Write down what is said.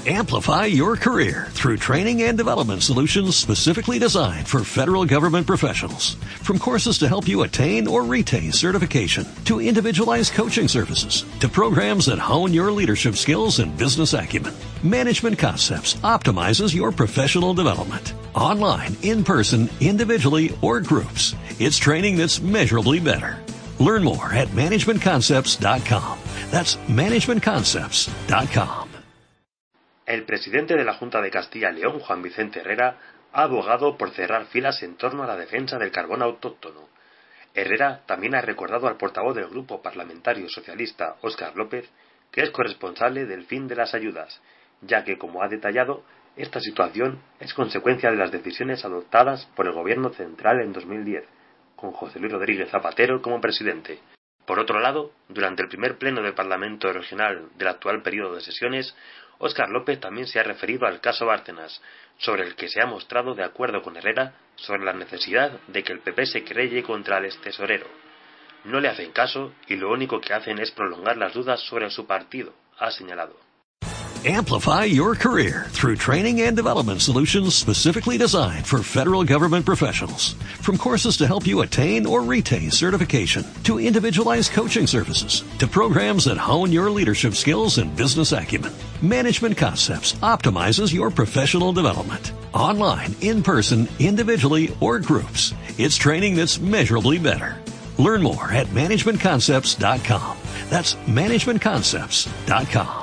Amplify your career through training and development solutions specifically designed for federal government professionals. From courses to help you attain or retain certification, to individualized coaching services, to programs that hone your leadership skills and business acumen, Management Concepts optimizes your professional development. Online, in person, individually, or groups, it's training that's measurably better. Learn more at managementconcepts.com. That's managementconcepts.com. El presidente de la Junta de Castilla y León, Juan Vicente Herrera, ha abogado por cerrar filas en torno a la defensa del carbón autóctono. Herrera también ha recordado al portavoz del Grupo Parlamentario Socialista, Óscar López, que es corresponsable del fin de las ayudas, ya que, como ha detallado, esta situación es consecuencia de las decisiones adoptadas por el Gobierno central en 2010, con José Luis Rodríguez Zapatero como presidente. Por otro lado, durante el primer pleno del Parlamento Regional del actual periodo de sesiones, Óscar López también se ha referido al caso Bárcenas, sobre el que se ha mostrado de acuerdo con Herrera sobre la necesidad de que el PP se querelle contra el extesorero. No le hacen caso y lo único que hacen es prolongar las dudas sobre su partido, ha señalado. Amplify your career through training and development solutions specifically designed for federal government professionals. From courses to help you attain or retain certification, to individualized coaching services, to programs that hone your leadership skills and business acumen, Management Concepts optimizes your professional development. Online, in person, individually, or groups, it's training that's measurably better. Learn more at managementconcepts.com. That's managementconcepts.com.